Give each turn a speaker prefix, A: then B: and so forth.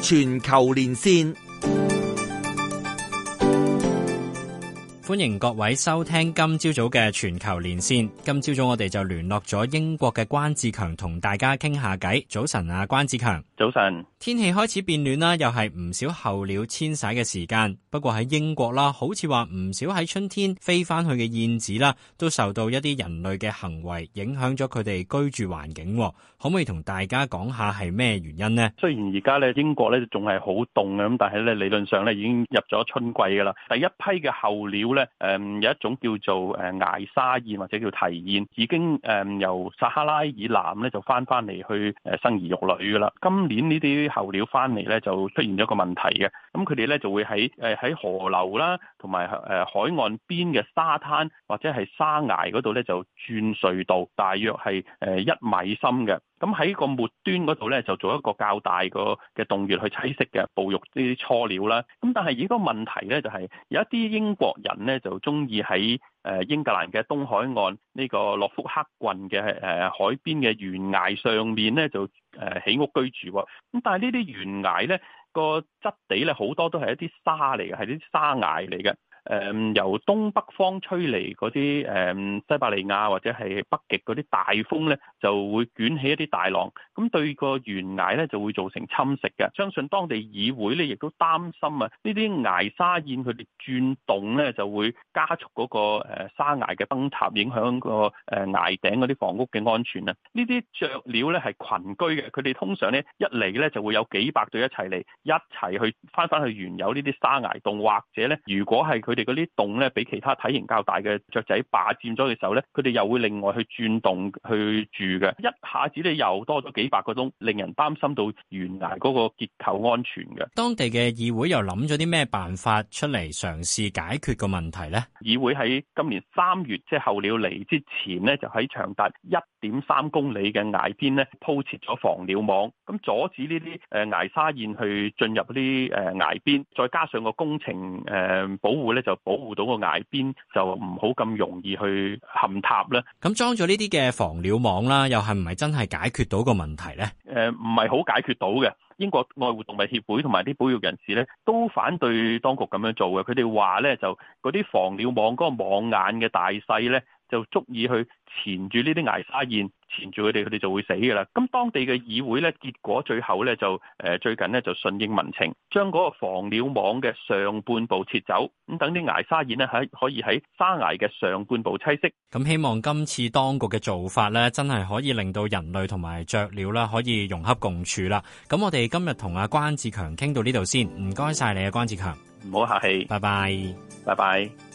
A: 全球連線。
B: 歡迎各位收聽今朝早嘅全球連線。今朝早我哋就聯絡咗英國嘅關志強同大家傾下偈。早晨啊，關志強。
C: 早晨。天
B: 氣開始變暖啦，又係唔少候鳥遷徙嘅時間。不過喺英國啦，好似話唔少喺春天飛翻去嘅燕子啦，都受到一啲人類嘅行為影響咗佢哋居住環境。可唔可以同大家講下係咩原因呢？
C: 雖然而家咧英國咧仲係好凍嘅，咁但係咧理論上咧已經入咗春季噶啦。第一批嘅候鳥咧，有一種叫做艾沙燕或者叫啼燕，已經由撒哈拉以南咧就翻嚟去生兒育女噶啦。今年呢啲候鳥翻嚟咧就出現咗個問題嘅，咁佢哋咧就會喺河流啦，同埋海岸邊嘅沙灘或者係沙崖嗰度咧就鑽隧道，大約係1米深嘅。咁喺個末端嗰度咧，就做一個較大嘅洞穴去棲息嘅，哺育呢啲雛鳥啦。咁但係而個問題咧，就係有一啲英國人咧，就中意喺英格蘭嘅東海岸呢個諾福克郡嘅海邊嘅懸崖上面咧，就起屋居住喎。咁但係呢啲懸崖咧個質地咧好多都係一啲沙嚟嘅，係啲沙崖嚟嘅。由東北方吹嚟嗰啲西伯利亞或者係北極嗰啲大風咧，就會捲起一啲大浪，咁對個懸崖咧就會造成侵蝕嘅。相信當地議會咧亦都擔心啊，呢啲崖沙燕佢哋轉動咧就會加速嗰個沙崖嘅崩塌，影響個崖頂嗰啲房屋嘅安全啊。呢啲雀鳥咧係群居嘅，佢哋通常咧一嚟咧就會有幾百對一齊嚟，一齊去翻去原有呢啲沙崖洞，或者咧如果係佢哋嗰啲洞咧，俾其他體型較大嘅雀仔霸佔咗嘅時候咧，佢哋又會另外去轉洞去住嘅。一下子咧又多咗幾百個洞，令人擔心到懸崖嗰個結構安全嘅。
B: 當地嘅議會又諗咗啲咩辦法出嚟嘗試解決個問題呢？
C: 議會喺今年3月，即係候鳥嚟之前呢，就喺長達1.3公里嘅崖邊咧鋪設咗防鳥網，咁阻止呢啲崖沙燕去進入啲崖邊，再加上個工程保護咧就保護到個崖邊，就唔好咁容易去陷塌啦。
B: 咁裝咗呢啲嘅防鳥網啦，又係唔係真係解決到個問題呢？
C: 唔係好解決到嘅。英國愛護動物協會同埋啲保育人士咧都反對當局咁樣做嘅。佢哋話咧就嗰啲防鳥網嗰個網眼嘅大細咧就足以去纏住呢啲崖沙燕，纏住佢哋就會死㗎啦。咁當地嘅議會咧，結果最後咧就最近咧就順應民情，將嗰個防鳥網嘅上半部撤走，咁等啲崖沙燕咧可以喺沙崖嘅上半部棲息。
B: 咁希望今次當局嘅做法咧，真係可以令到人類同埋雀鳥啦可以融洽共處啦。咁我哋今日同阿關志強傾到呢度先，唔該晒你啊，關志強。
C: 唔好客氣，
B: 拜拜，
C: 拜拜。